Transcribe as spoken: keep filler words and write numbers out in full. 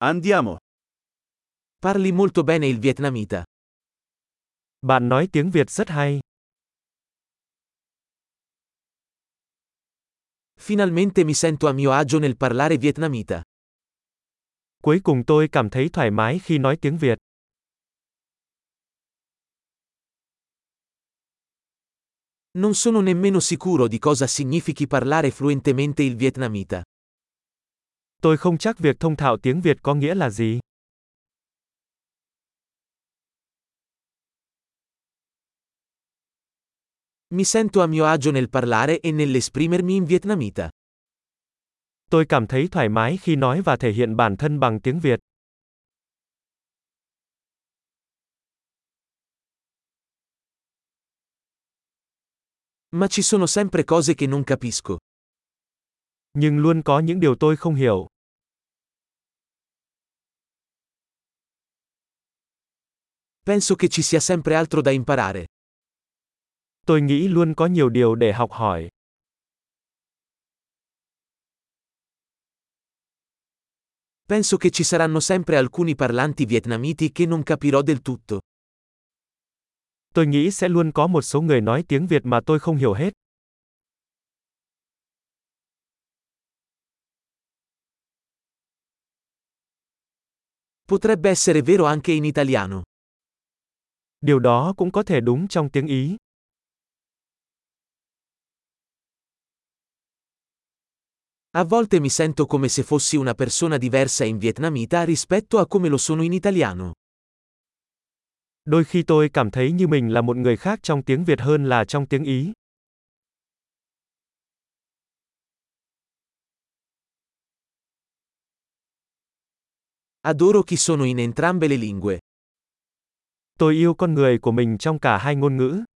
Andiamo. Parli molto bene il vietnamita. Bạn nói tiếng Việt rất hay. Finalmente mi sento a mio agio nel parlare vietnamita. Cuối cùng tôi cảm thấy thoải mái khi nói tiếng Việt. Non sono nemmeno sicuro di cosa significhi parlare fluentemente il vietnamita. Tôi không chắc việc thông thạo tiếng Việt có nghĩa là gì. Mi sento a mio agio nel parlare e nell'esprimermi in vietnamita. Tôi cảm thấy thoải mái khi nói và thể hiện bản thân bằng tiếng Việt. Ma ci sono sempre cose che non capisco. Nhưng luôn có những điều tôi không hiểu. Penso che ci sia sempre altro da imparare. Tôi nghĩ luôn có nhiều điều để học hỏi. Penso che ci saranno sempre alcuni parlanti vietnamiti che non capirò del tutto. Tôi nghĩ sẽ luôn có một số người nói tiếng Việt mà tôi không hiểu hết. Potrebbe essere vero anche in italiano. Điều đó cũng có thể đúng trong tiếng Ý. A volte mi sento come se fossi una persona diversa in vietnamita rispetto a come lo sono in italiano. Đôi khi tôi cảm thấy như mình là một người khác trong tiếng Việt hơn là trong tiếng Ý. Adoro chi sono in entrambe le lingue. Tôi yêu con người của mình trong cả hai ngôn ngữ.